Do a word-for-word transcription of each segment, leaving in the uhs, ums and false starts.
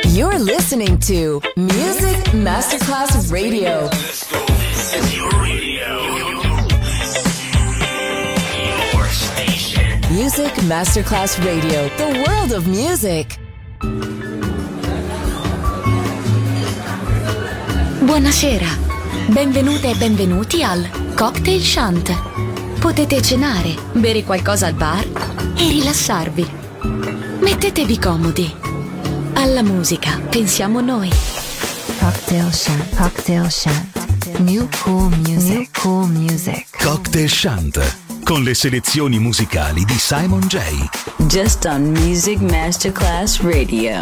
You're listening to Music Masterclass Radio. Let's go. This is your radio. Your station. Music Masterclass Radio. The world of music. Buonasera. Benvenute e benvenuti al Cocktail Shant. Potete cenare, bere qualcosa al bar e rilassarvi. Mettetevi comodi. Alla musica pensiamo noi. Cocktail Shant. Cocktail Shant. New cool music. New cool music. Cocktail Shant, con le selezioni musicali di Simon J. Just on Music Masterclass Radio.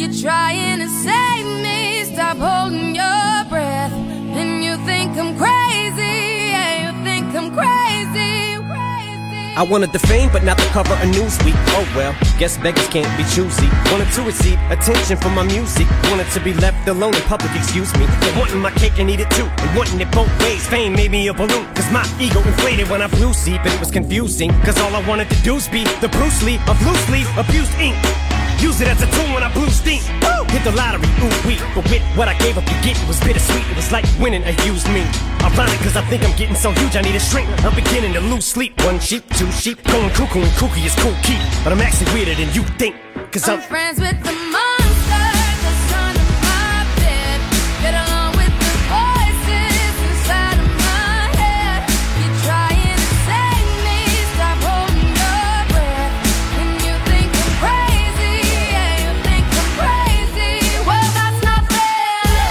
You're trying to save me. Stop holding your breath. And you think I'm crazy. Yeah, you think I'm crazy. Crazy. I wanted the fame, but not the cover of Newsweek. Oh well, guess beggars can't be choosy. Wanted to receive attention from my music. Wanted to be left alone in public, excuse me. But wanting my cake and eat it too. And wanting it both ways. Fame made me a balloon. Cause my ego inflated when I flew sleep. And it was confusing. Cause all I wanted to do was be the Bruce Lee of loose leaf abused ink. Use it as a tool when I blew steam. Woo! Hit the lottery, ooh wee. But with what I gave up to get, it was bittersweet. It was like winning a used me. Ironic, cause I think I'm getting so huge I need a shrink. I'm beginning to lose sleep. One sheep, two sheep, going cuckoo and kooky is cool key. But I'm actually weirder than you think. Cause I'm, I'm friends with the monster that's under my bed. Get along with the voices inside of my head. You're trying to save me. Stop holding your breath. And you think I'm crazy. Yeah, you think I'm crazy. Well, that's not fair.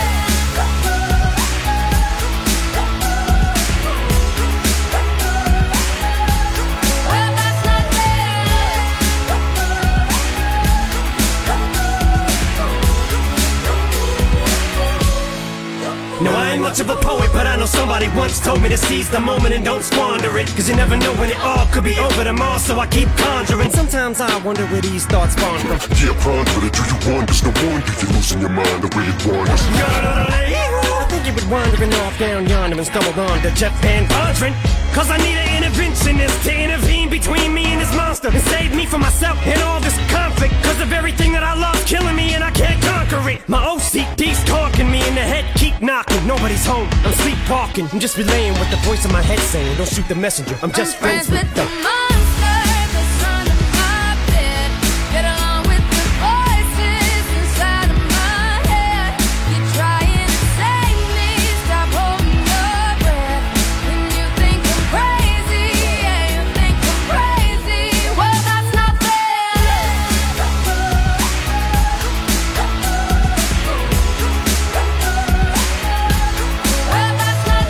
Well, that's not fair. no, I ain't much of a poet, but I know somebody once told me to seize the moment and don't squander it. Cause you never know when it all could be over tomorrow, so I keep conjuring. Sometimes I wonder where these thoughts spawn from. Yeah, ponder it, do you wonder? No wonder you're losing your mind the way it wanders. I think you would wandering off down yonder and stumbled on to Jeff Van Vondren. Cause I need an interventionist to intervene between me and this monster and save me from myself and all this conflict. Cause of everything that I love killing me and I can't conquer it. My O C D's talking me in the head, keep knocking. Nobody's home, I'm sleepwalking. I'm just relaying what the voice in my head saying. Don't shoot the messenger, I'm just I'm friends, friends with the the monster that's under my bed. Get along with the voices inside of my head. You're trying to save me. Stop holding your breath. And you think I'm crazy. Yeah, you think I'm crazy. Well, that's not fair. Well, that's not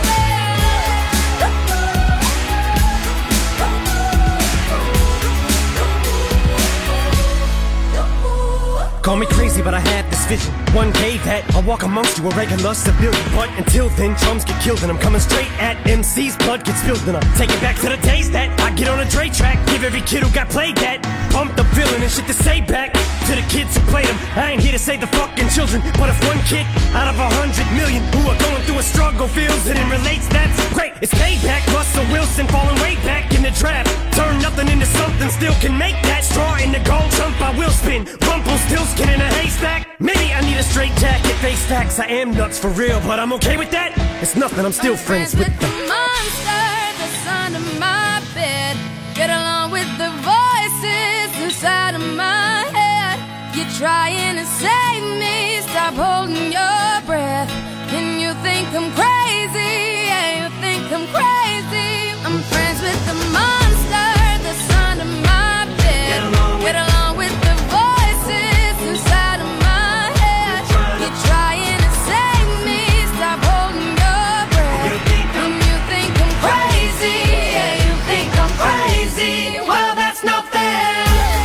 fair. Call me crazy, but I had this vision. One day that I'll walk amongst you, a regular civilian. But until then, drums get killed and I'm coming straight at M C's. Blood gets spilled and I'm taking back to the days that I get on a Dre track. Give every kid who got played that pump the villain and shit to say back to the kids who played them. I ain't here to save the fucking children, but if one kid out of a hundred million who are going through a struggle feels it and relates, that's great. It's payback. Russell Wilson falling way back in the draft. Turn nothing into something, still can make that. Straw in the gold jump, I will spin. Rumpelstiltskin in a haystack. Maybe I need a straight jacket, face facts. I am nuts for real, but I'm okay with that. It's nothing, I'm still I'm friends, with the them. monster that's under my bed. Get along with the voices inside of my head. You're trying to save me. Stop holding your breath. And you think I'm crazy. Yeah, you think I'm crazy. I'm friends with the monster that's under my bed. Get along with, Get along with the voices inside of my head. You're trying to save me. Stop holding your breath. And you think I'm crazy. Yeah, you think I'm crazy. Well, that's not fair.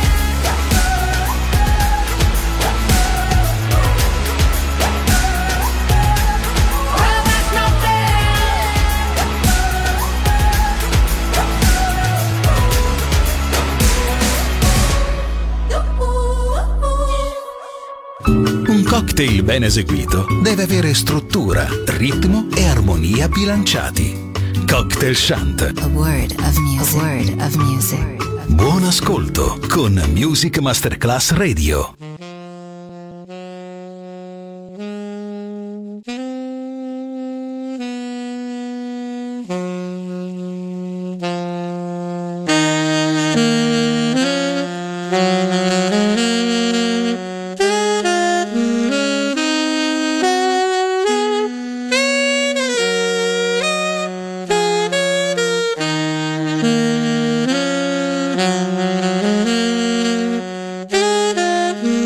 Well, that's not Un cocktail ben eseguito deve avere struttura, ritmo e armonia bilanciati. Cocktail Shant. A word of music. A word of music. Buon ascolto con Music Masterclass Radio. fair.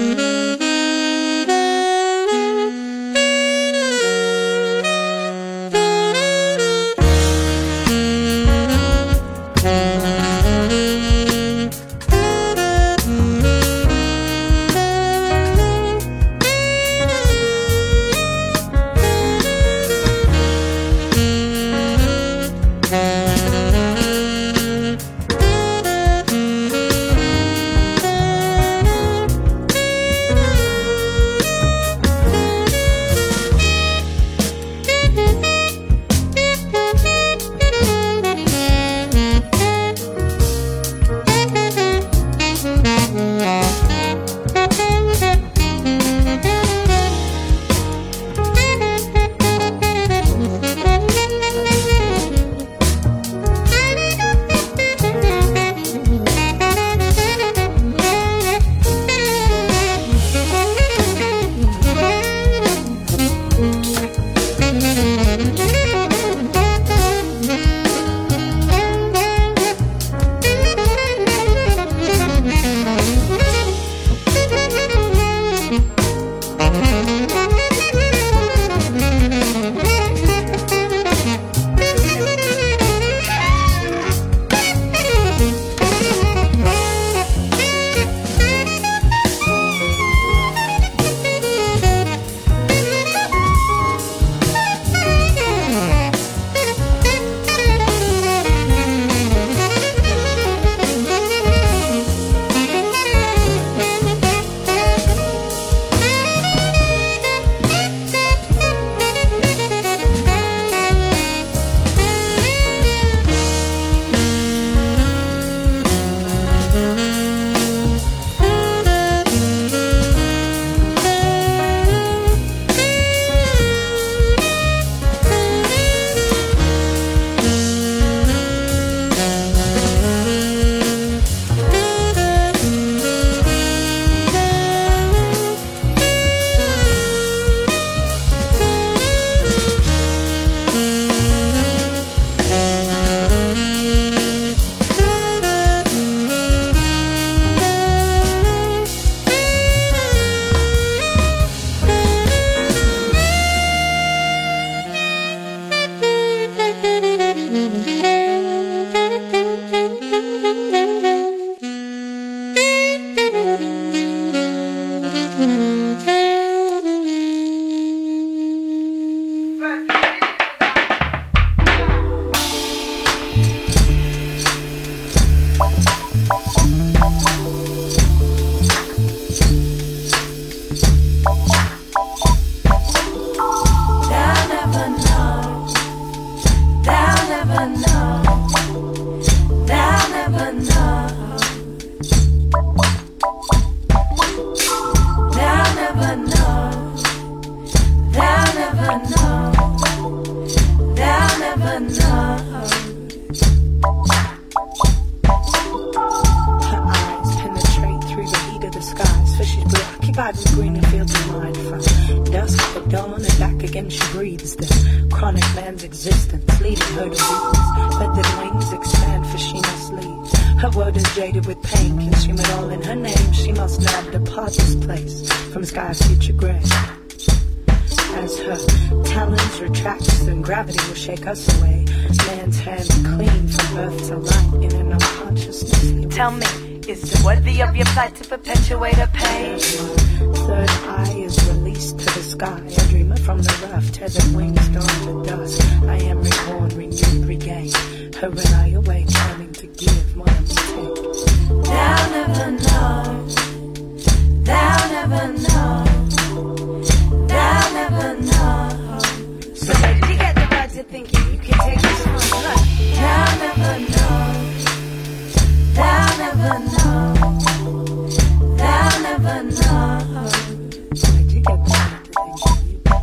Shake us away. Man's hand clean from birth to life in an unconsciousness. Tell me, is it worthy of your fight to perpetuate a pain? Third eye is released to the sky. A dreamer from the rough, tethered wings dawn to dust. I am reborn, renewed, regained. Her and I awake, coming to give more than we take. Thou never know. Thou never know. Thou never know. So where did you get the to thinking you can take this one? Look. Thou never know. Thou never know. Thou never know. Where'd you get that to thinking you can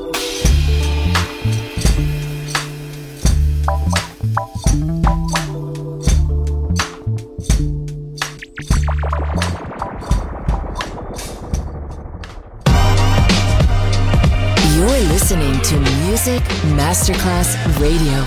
You're listening to Music Masterclass Radio.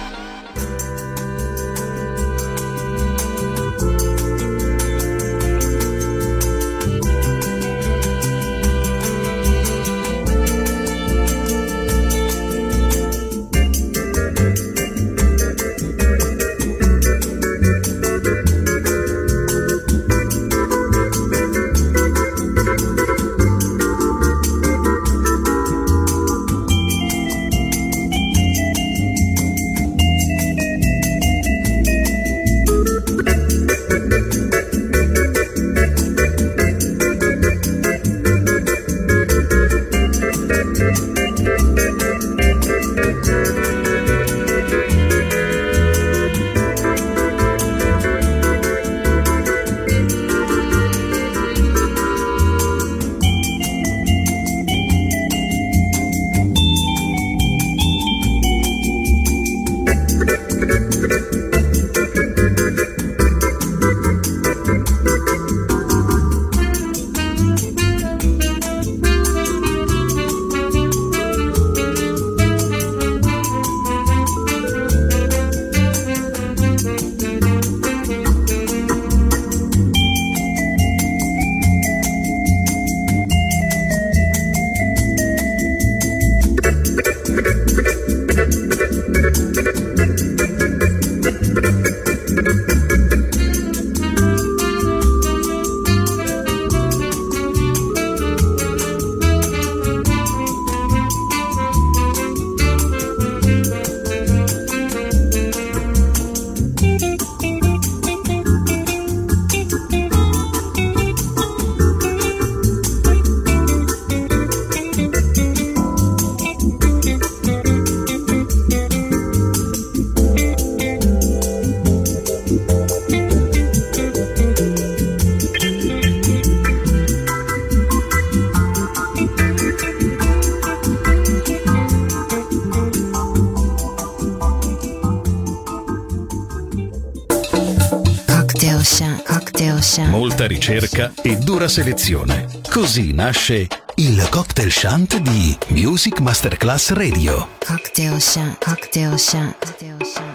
Molta ricerca e dura selezione. Così nasce il Cocktail Shant di Music Masterclass Radio. Cocktail Shant, Cocktail Shant, Cocktail Shant.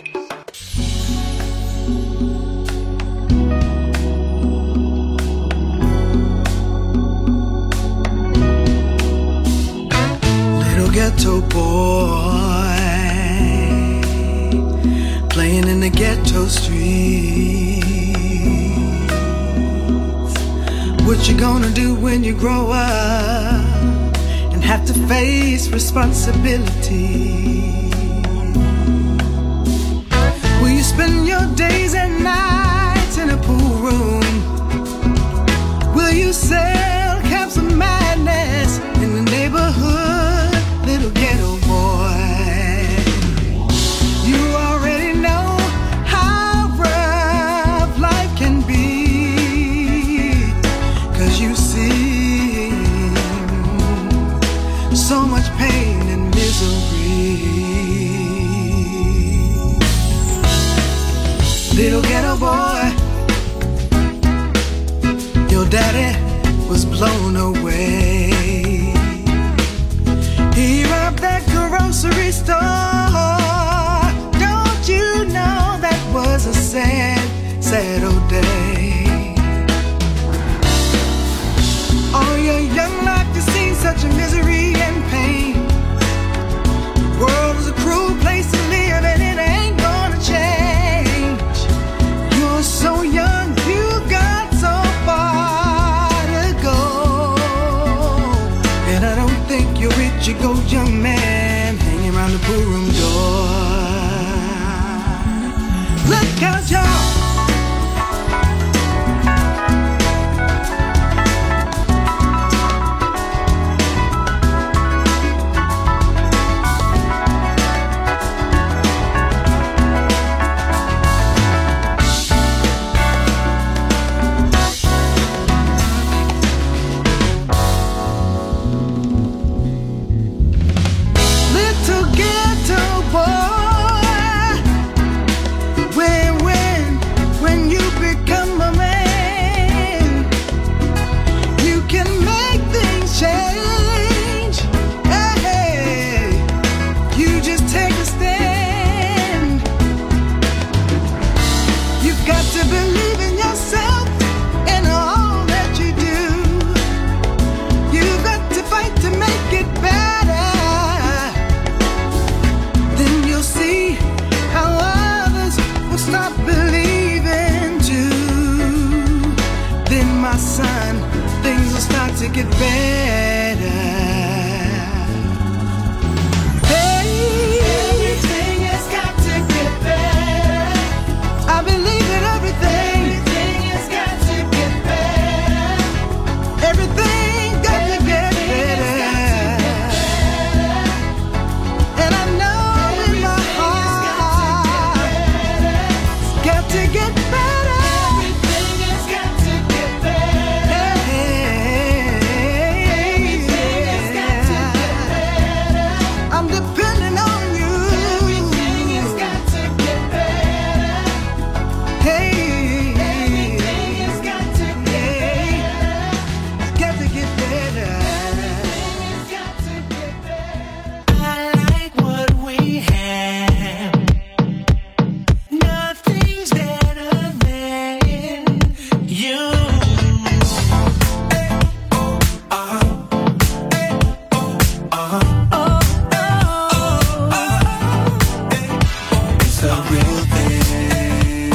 Little ghetto boy playing in the ghetto streets, What you gonna do when you grow up and have to face responsibility? Will you spend your days and nights in a pool room? Will you sell caps of madness in the neighborhood, little ghetto boy? You already know how rough life can be, 'cause you see so much pain and misery. Little ghetto boy, your daddy was blown away. He robbed that grocery store. Don't you know that was a sad, sad old day? All your young life you've seen such a misery and pain. The world is a cruel place to live and it ain't gonna change. You're so young, you got so far to go. And I don't think you're rich, you go young man hanging around the pool room door. Look out, y'all. Little ghetto boy, when, when, when you become a man, you can make things change. Hey, you just take a stand. You've got to believe in yourself and all that you do. You've got to fight to make it better. Then you'll see how others will stop believing too. Then, my son, things will start to get better. Hey, everything has got to get better. I believe that everything, everything has got to get better. Everything got to get better. And I know in my heart, it's got to get better. Everything has got to get better. Everything has got to get better. I'm depending on you. Everything has got to get better. Hey, everything has got to get better. It's got to get better. It's got to get better. I like what we have. Nothing's better than you. It's a real thing.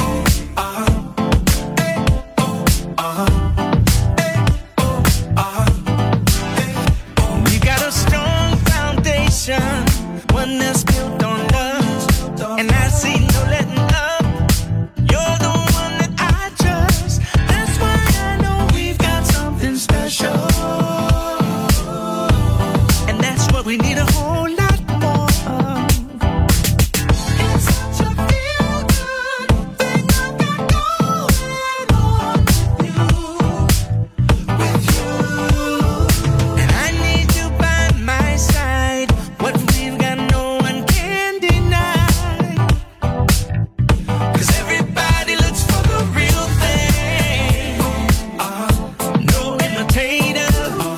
We got a strong foundation, one that's built on love, and I see no letting up. You're the one that I trust. That's why I know we've got something special, and that's what we need a whole lot more of. It's such a feel-good thing I got going on with you, and I need you by my side. What we've got, no one can deny. 'Cause everybody looks for the real thing. Uh, no imitators.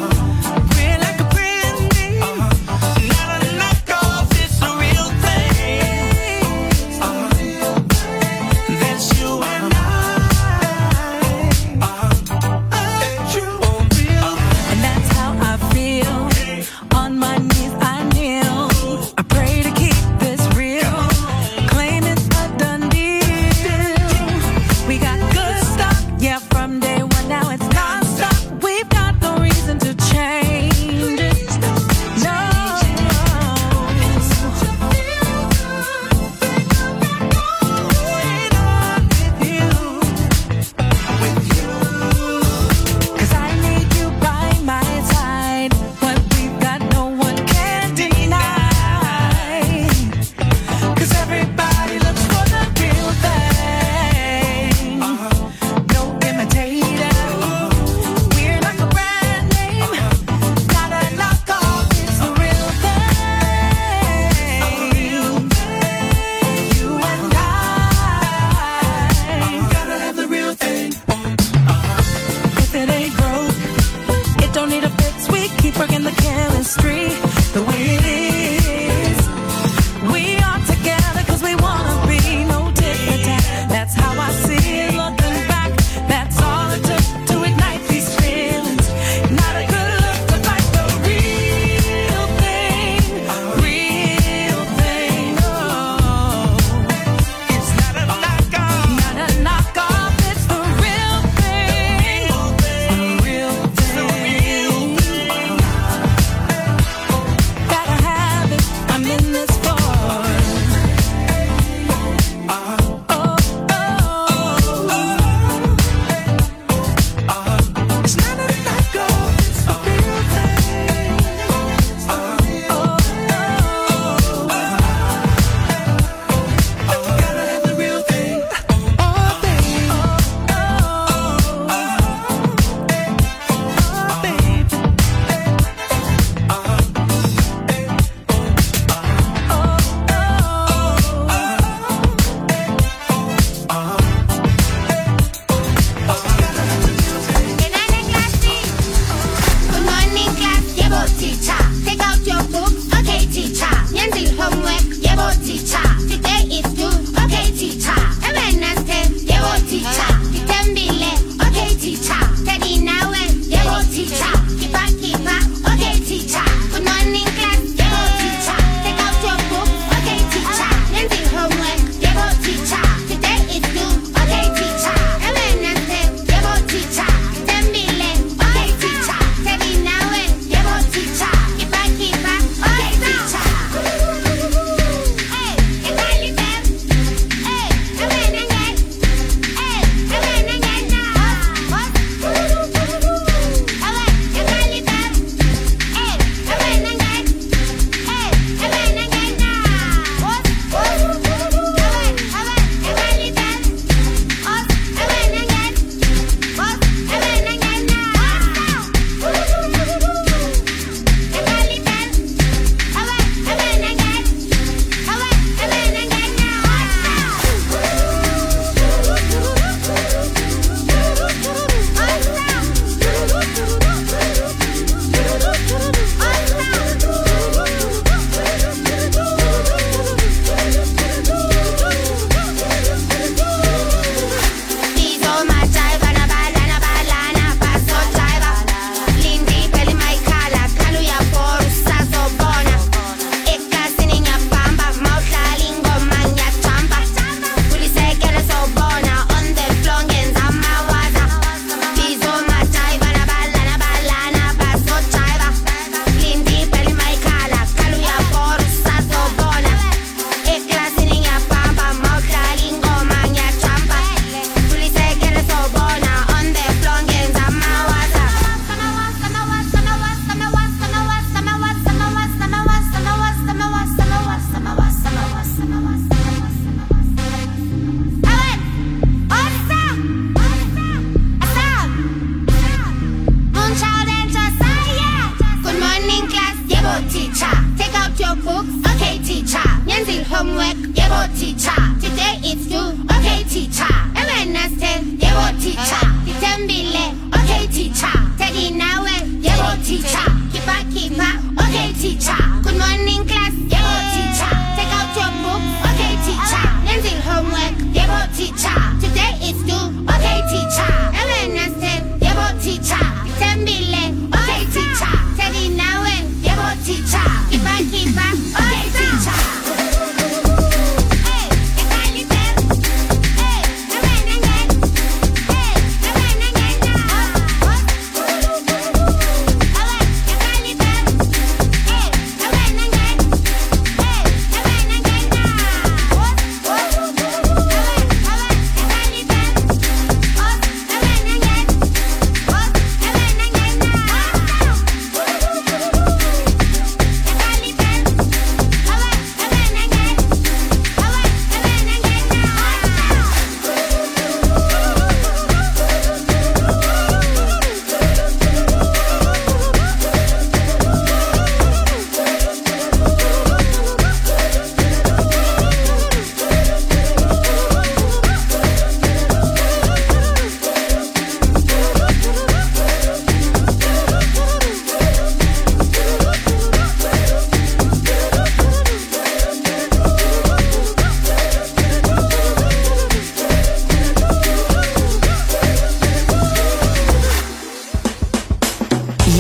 gets weak, keep working the chemistry the way it is. We are together cause we wanna be, no tit for tat. That's how I see it looking back. That's all it took to ignite these feelings. Not a good look to fight the real thing, real thing. Oh, it's not a knockoff, not a knockoff. It's the real thing, the real thing. Gotta have it. I'm in this for.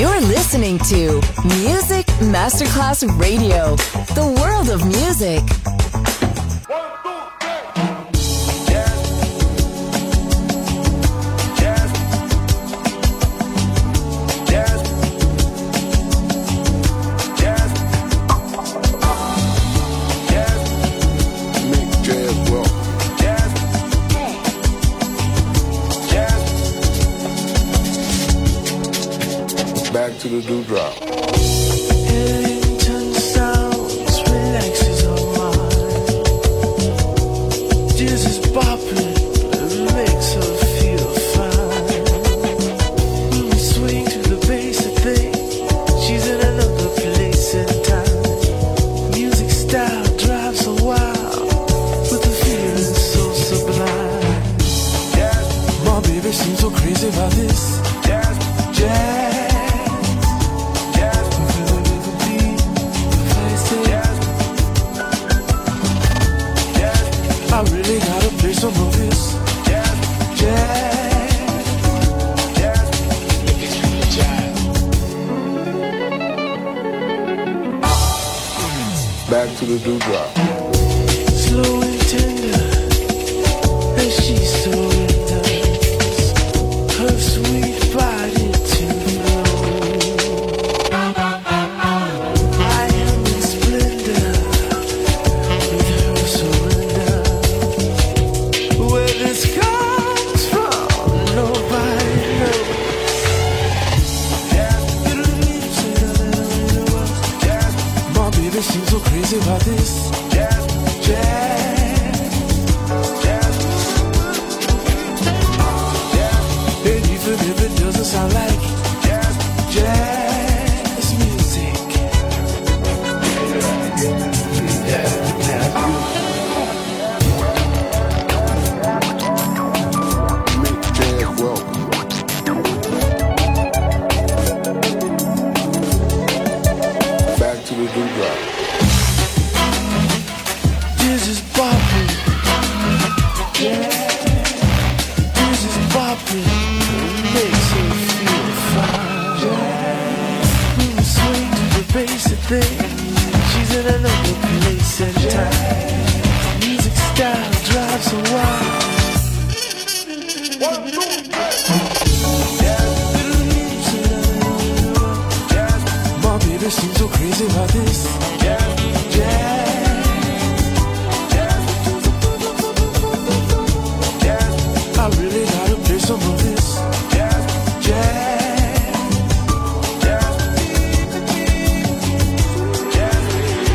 You're listening to Music Masterclass Radio, the world of music. Back to the dewdrop. Ellington sounds relaxes our mind. Jazz is bopping, it makes her feel fine. When we swing to the bass, I think she's in another place and time. Music style drives her wild, with the feeling so sublime. My baby seems so crazy about this jazz. Jazz. I really gotta play some of this jazz, jazz, jazz. It's really jazz. Back to the dewdrop. Slow and tender, as she surrenders her sweet body to flow. I am in splendor with her surrender. Where this comes from, nobody knows. My baby seems so crazy about this jazz, jazz, jazz, jazz. And even if it doesn't sound like jazz, jazz music. This is bopping, yeah. This is bopping, it makes her feel fine. Yeah. When we swing to the basic thing, she's in another place and time. Music style drives her wild. One, two, three. My baby seems so crazy about this. Yeah, yeah. I really gotta play some of this jazz, jazz, jazz, jazz.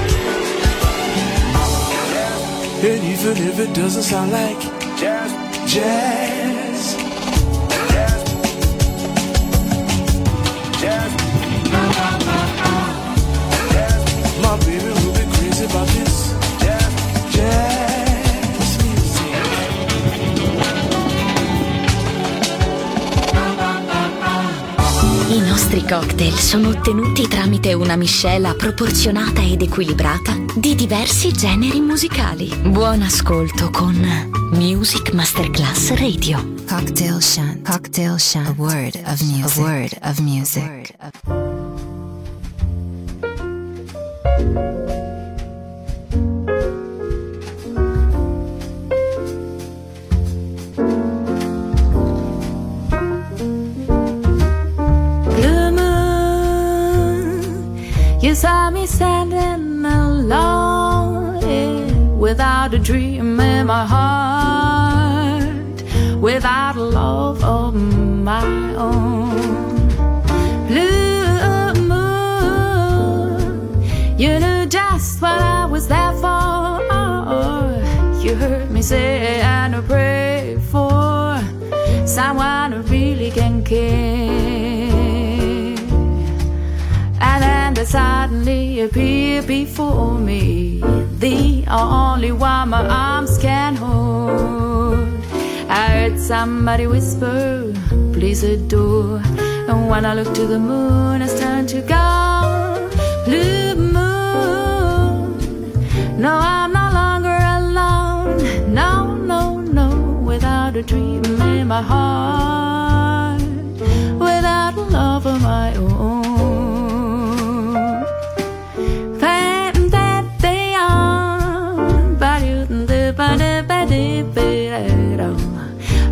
And even if it doesn't sound like jazz, jazz, jazz, jazz, jazz. My baby will be crazy about this jazz, jazz music. I nostri cocktail sono ottenuti tramite una miscela proporzionata ed equilibrata di diversi generi musicali. Buon ascolto con Music Masterclass Radio. Cocktail Shant. Cocktail Shant. A word of music. A word of music. You saw me standing alone, yeah, without a dream in my heart, without a love of my own. Blue moon, you knew just what I was there for. You heard me say and I pray for someone who really can care. And then they suddenly appear before me, the only one my arms can hold. I heard somebody whisper, please adore. And when I look to the moon, it's turned to gold. Blue moon, no, I'm no longer alone. No, no, no, without a dream in my heart, without a love of my own.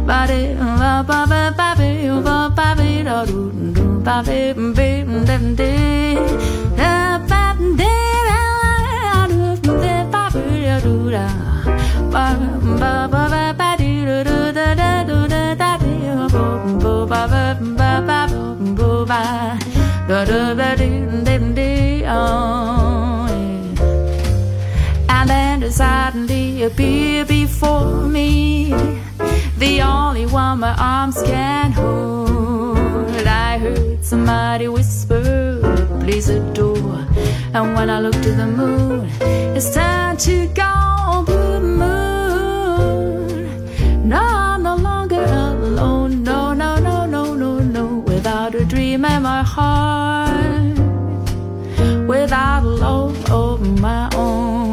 And then suddenly appear before me, the only one my arms can hold. I heard somebody whisper, please adore. And when I look to the moon, it's time to go, blue moon. No, I'm no longer alone. No, no, no, no, no, no. Without a dream in my heart, without a love of my own.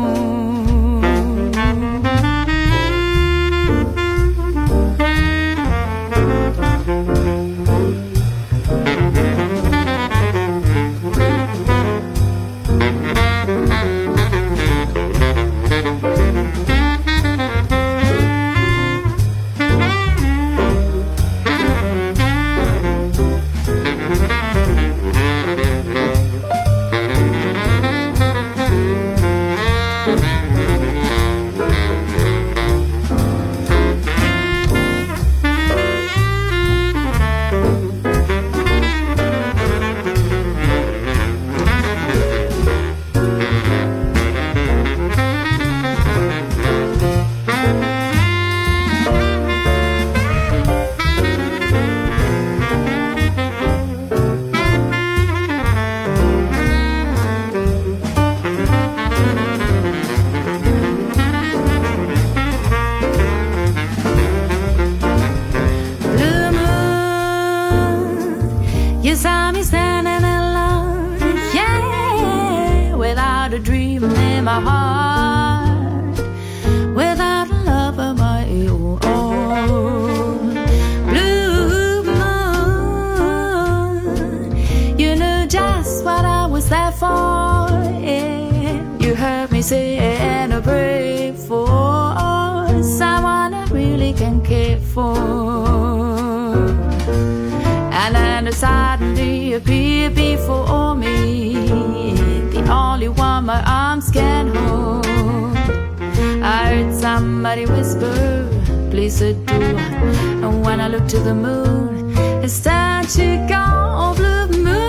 Somebody whisper, please adore. And when I look to the moon, it's time to go, blue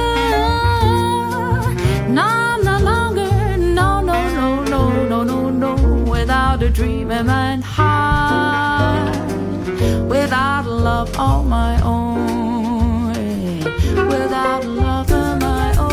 moon. No, I'm no longer, no, no, no, no, no, no, no. Without a dream in my heart, without a love of my own, without a love of my own.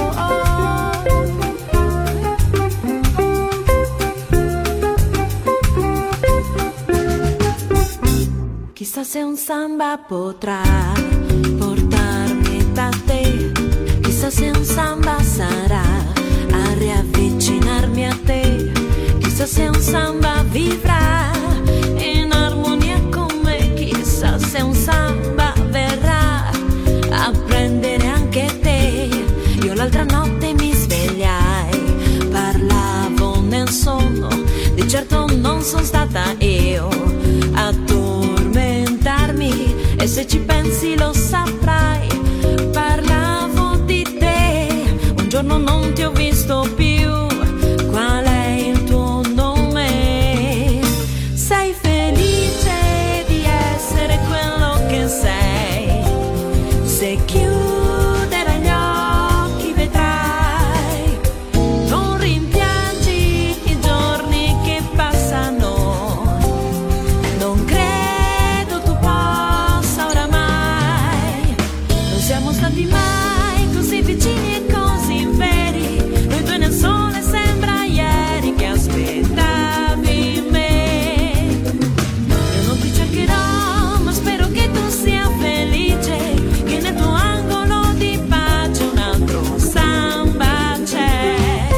Chissà se un samba potrà portarmi da te, chissà se un samba sarà a riavvicinarmi a te, chissà se un samba vivrà in armonia con me, chissà se un samba verrà a prendere anche te. Io l'altra notte mi svegliai, parlavo nel sonno, di certo non sono stata io a tormentarmi, e se ci pensi lo saprai, parlavo di te. Un giorno non ti ho visto più, qual è il tuo nome? Sei felice di essere quello che sei, se chiuderai gli occhi vedrai, non rimpiangi i giorni che passano. Non credo tu possa oramai, non siamo stati mai così vicini e così veri, noi due nel sole sembra ieri che aspettavi me. Io non ti cercherò, ma spero che tu sia felice, che nel tuo angolo di pace un altro samba c'è.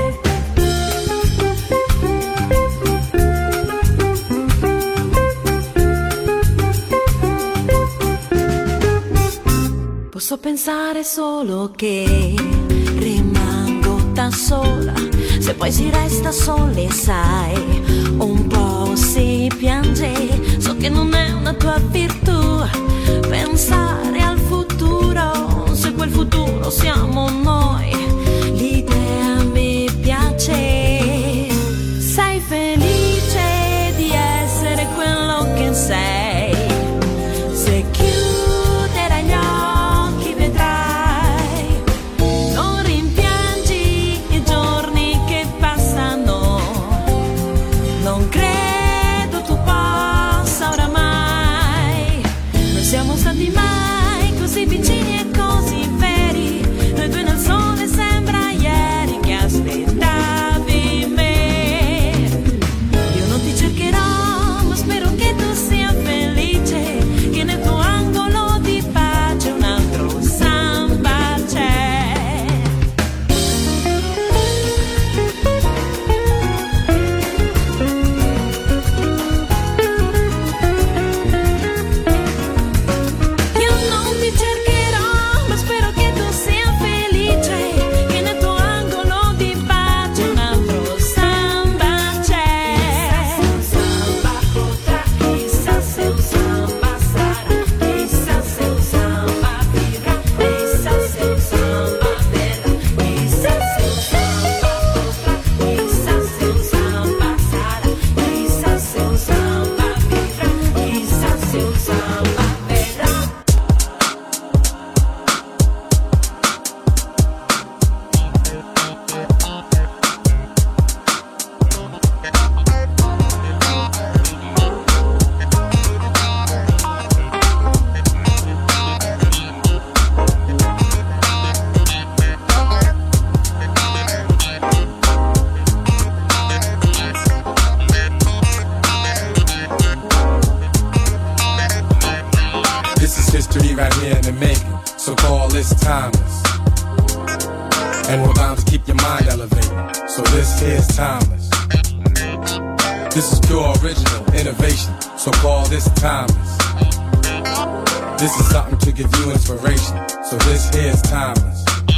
Posso pensare solo che rimango da sola, se poi si resta soli sai, un po' si piange, so che che non è una tua virtù. Pensare al futuro, se quel futuro siamo noi, l'idea mi piace. Sei felice di essere quello che sei. Se chiuderai gli occhi vedrai, non rimpiangi i giorni che passano. Non credo tu possa oramai. Non siamo stati mai così vicini e così veri. Noi due nel sole sembra ieri che aspettavi me. Io non ti cercherò, ma spero che tu sia felice, che nel tuo angolo di pace un altro samba c'è. Io non ti cercherò, ma spero che tu sia felice, che nel tuo angolo di pace un altro samba c'è. Samba potrà, chissà se un samba sarà, chissà se un samba vivrà, chissà se un samba verrà, chissà se un samba potrà, chissà se un samba sarà, chissà se un samba vivrà, chissà se un samba verrà. This is history right here in the making, so call this timeless. And we're bound to keep your mind elevated, so this here's timeless. This is pure original innovation, so call this timeless. This is something to give you inspiration, so this here's timeless.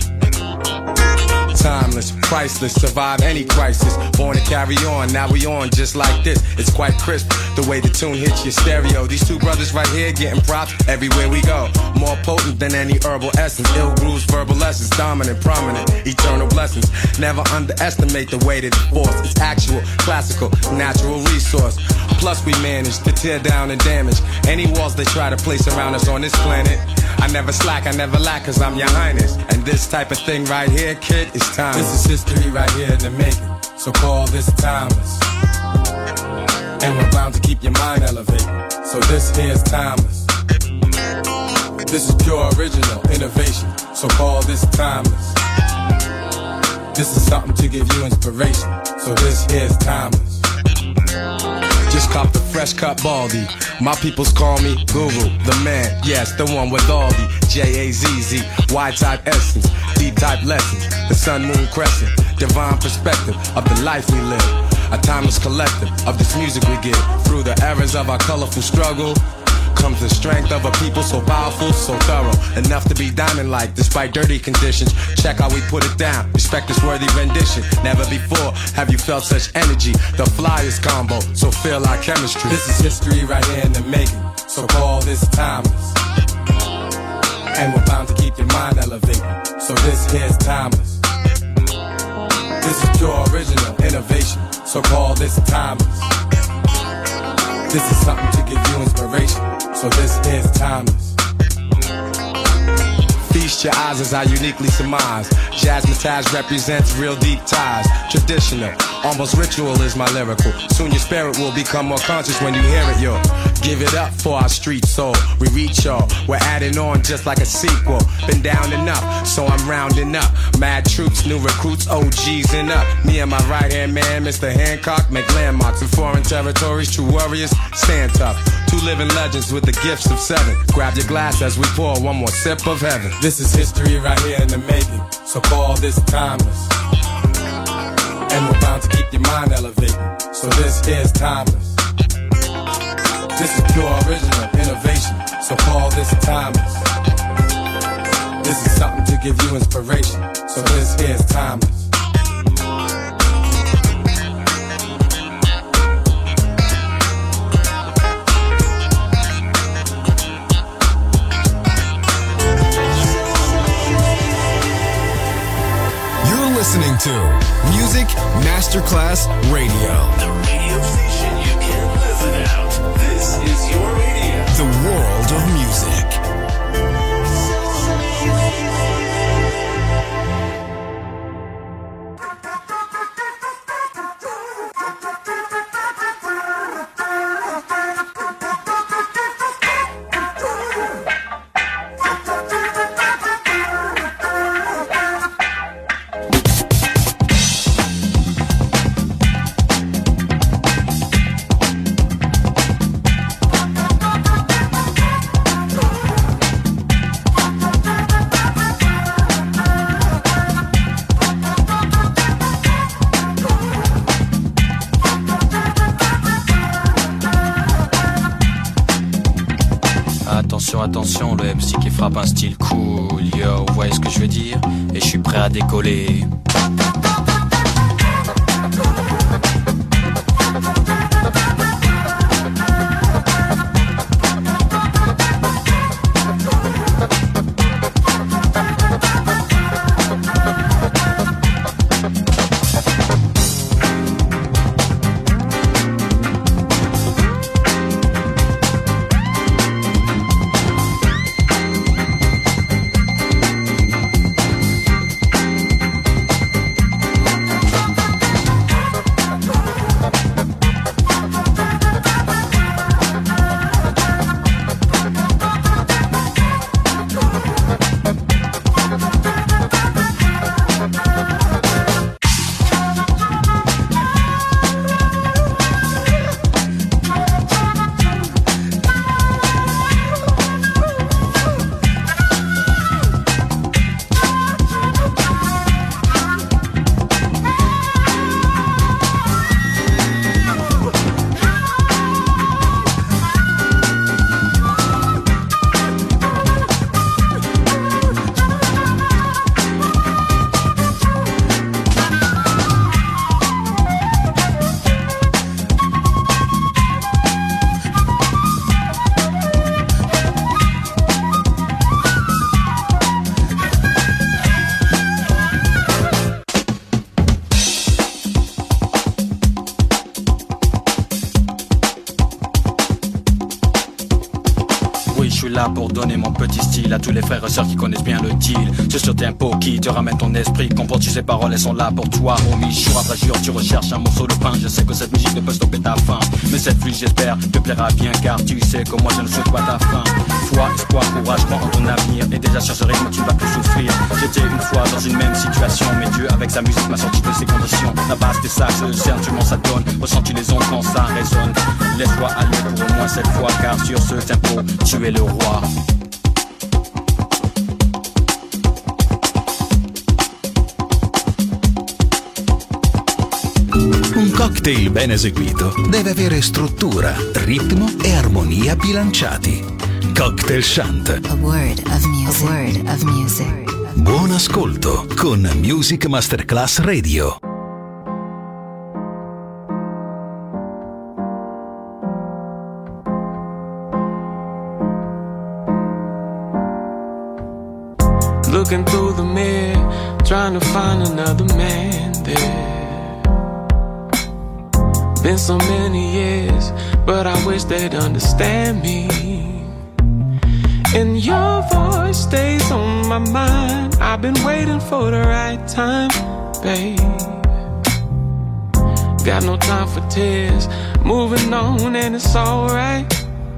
Timeless, priceless, survive any crisis. Born to carry on, now we on just like this. It's quite crisp, the way the tune hits your stereo. These two brothers right here getting props everywhere we go. More potent than any herbal essence. Ill grooves, verbal lessons, dominant, prominent, eternal blessings. Never underestimate the weight of the force. It's actual, classical, natural resource. Plus we manage to tear down and damage any walls they try to place around us on this planet. I never slack, I never lack, cause I'm your highness. And this type of thing right here, kid, is timeless. This is history right here in the making, so call this timeless. And we're bound to keep your mind elevated, so this here's timeless. This is pure original innovation, so call this timeless. This is something to give you inspiration, so this here's timeless. Just cop the fresh cut baldy. My peoples call me Guru, the man, yes, the one with all the J A Z Z, Y-type essence, D-type lessons, the sun, moon, crescent, divine perspective of the life we live, a timeless collective of this music we give. Through the errors of our colorful struggle comes the strength of a people so powerful, so thorough, enough to be diamond-like despite dirty conditions. Check how we put it down, respect this worthy rendition. Never before have you felt such energy, the flyest combo, so feel our chemistry. This is history right here in the making, so call this timeless. And we're bound to keep your mind elevated, so this here's timeless. This is pure original innovation, so call this timeless. This is something to give you inspiration, so this is timeless. Feast your eyes as I uniquely surmise. Jazzmatazz represents real deep ties. Traditional, almost ritual is my lyrical. Soon your spirit will become more conscious when you hear it, yo. Give it up for our street soul. We reach y'all, we're adding on just like a sequel. Been down enough, so I'm rounding up. Mad troops, new recruits, O Gs and up. Me and my right hand man, Mister Hancock, make landmarks in foreign territories. True warriors, stand tough. Two living legends with the gifts of seven. Grab your glass as we pour one more sip of heaven. This is history right here in the making, so call this timeless. And we're bound to keep your mind elevated, so this is timeless. This is pure original innovation, so call this timeless. This is something to give you inspiration, so this is timeless. listening to Music Masterclass Radio. The radio station you can't live without. This is your radio. The world of music. Attention, le M C qui frappe un style cool, yo, vous voyez ce que je veux dire? Et je suis prêt à décoller. Pour donner mon petit style à tous les frères et sœurs qui connaissent bien le deal. C'est ce tempo qui te ramène ton esprit. Comprends, tu ces paroles, elles sont là pour toi, homie. Jour après jour, tu recherches un morceau de pain. Je sais que cette musique ne peut stopper ta faim, mais cette pluie, j'espère, te plaira bien, car tu sais que moi je ne souhaite pas ta fin. Foi, espoir, courage, crois en ton avenir. Et déjà sur ce rythme, tu vas plus souffrir. J'étais une fois dans une même situation, mais Dieu avec sa musique m'a sorti de ces conditions. La base des sages, certainement ça donne. Ressens-tu les ondes quand ça résonne? Laisse-toi aller pour au moins cette fois, car sur ce tempo, tu es le roi. Un cocktail ben eseguito deve avere struttura, ritmo e armonia bilanciati. Cocktail Shant. A word of music. A word of music. Buon ascolto con Music Masterclass Radio. Looking through the mirror, trying to find another man there. Been so many years, but I wish they'd understand me. And your voice stays on my mind. I've been waiting for the right time, babe. Got no time for tears, moving on and it's alright.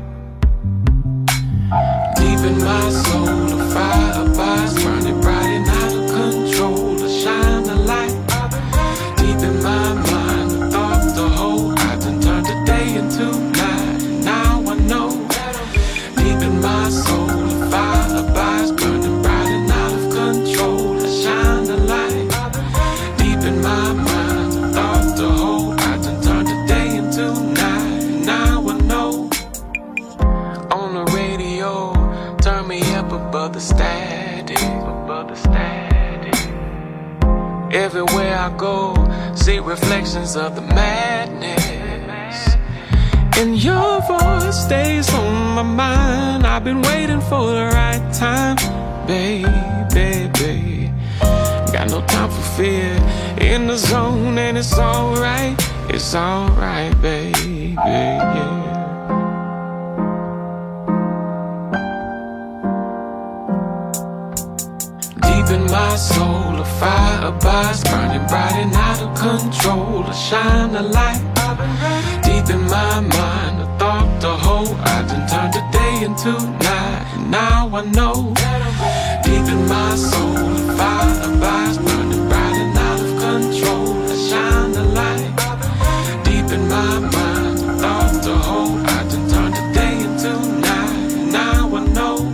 Deep in my soul, a fire abides, burning bright and out of control. I shine the light. Deep in my mind, the thoughts to hold. I can turn the day into night. Now I know. Deep in my soul, a fire abides, burning bright and out of control. I shine the light. Deep in my mind, the thoughts to hold. I can turn the day into night. Now I know. On the radio, turn me up above the static, above the static. Everywhere I go, see reflections of the madness. And your voice stays on my mind. I've been waiting for the right time, baby, baby. Got got no time for fear. In the zone and it's alright, it's alright, baby, yeah. Deep in my soul, a fire abides, burning bright and out of control. I shine a light. Deep in my mind, a thought to hold. I done turned the day into night, and now I know. Deep in my soul, a fire abides, burning bright and out of control. I shine a light. Deep in my mind, a thought to hold. I done turned the day into night, and now I know.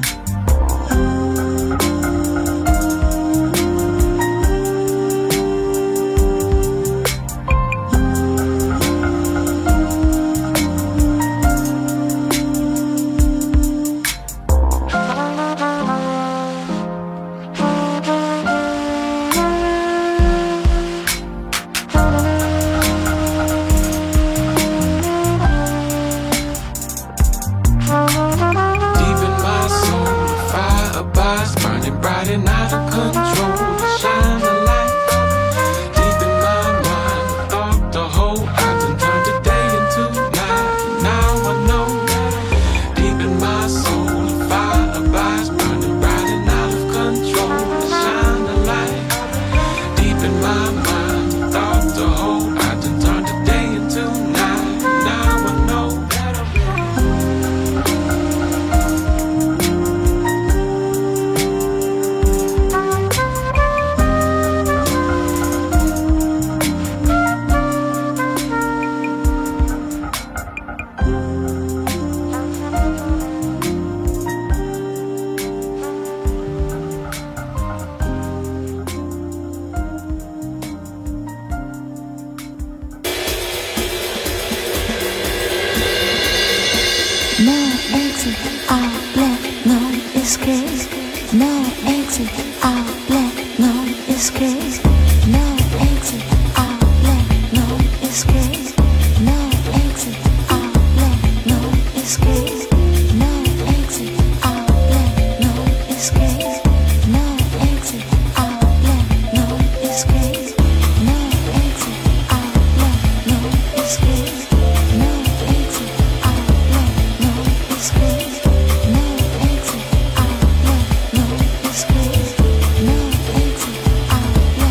No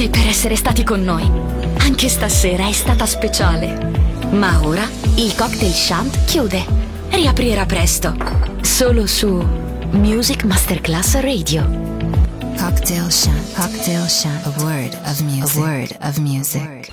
Grazie per essere stati con noi. Anche stasera è stata speciale. Ma ora il Cocktail Shant chiude. Riaprirà presto. Solo su Music Masterclass Radio. Cocktail Shant. Cocktail Shant. A word of music. A word of music.